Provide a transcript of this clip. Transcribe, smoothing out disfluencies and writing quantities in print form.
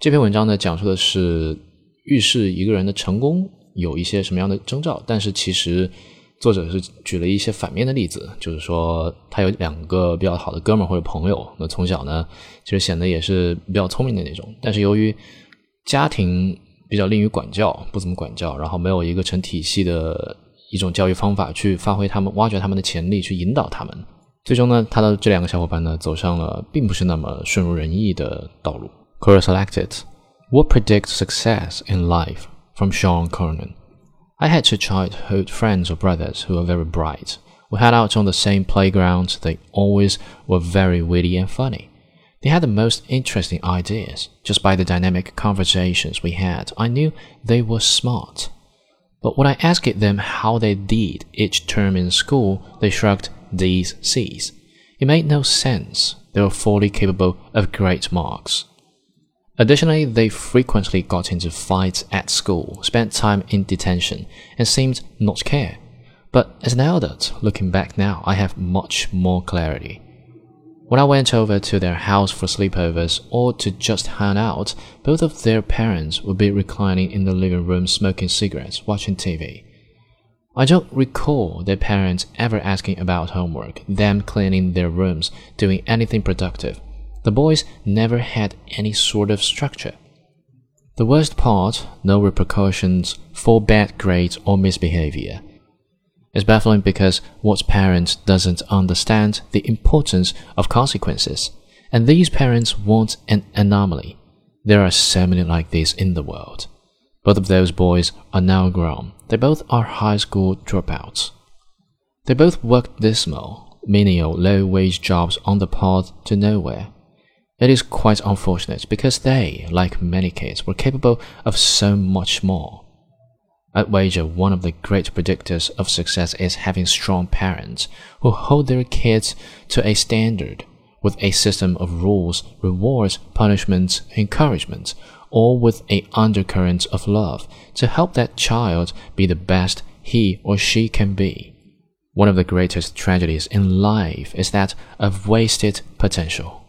这篇文章呢，讲述的是预示一个人的成功有一些什么样的征兆，但是其实作者是举了一些反面的例子，就是说他有2个比较好的哥们儿或者朋友，那从小呢其实显得也是比较聪明的那种，但是由于家庭比较吝于管教，不怎么管教，然后没有一个成体系的一种教育方法去发挥他们，挖掘他们的潜力，去引导他们，最终呢他的这2个小伙伴呢走上了并不是那么顺如人意的道路。 Quora selected What predicts success in life from Sean Cronin. I had 2 childhood friends or brothers who were very bright. We hung out on the same playground. They always were very witty and funny. They had the most interesting ideas. Just by the dynamic conversations we had, I knew they were smart. But when I asked them how they did each term in school, they shrugged these C's. It made no sense. They were fully capable of great marks.Additionally, they frequently got into fights at school, spent time in detention, and seemed not to care. But as an adult, looking back now, I have much more clarity. When I went over to their house for sleepovers or to just hang out, both of their parents would be reclining in the living room smoking cigarettes, watching TV. I don't recall their parents ever asking about homework, them cleaning their rooms, doing anything productive.The boys never had any sort of structure. The worst part, no repercussions for bad grades or misbehavior. It's baffling because what parent doesn't understand the importance of consequences? And these parents want an anomaly. There are so many like this in the world. Both of those boys are now grown. They both are high school dropouts. They both work dismal, menial, low-wage jobs on the path to nowhere.It is quite unfortunate because they, like many kids, were capable of so much more. I'd wager one of the great predictors of success is having strong parents who hold their kids to a standard with a system of rules, rewards, punishments, encouragement, all with an undercurrent of love to help that child be the best he or she can be. One of the greatest tragedies in life is that of wasted potential.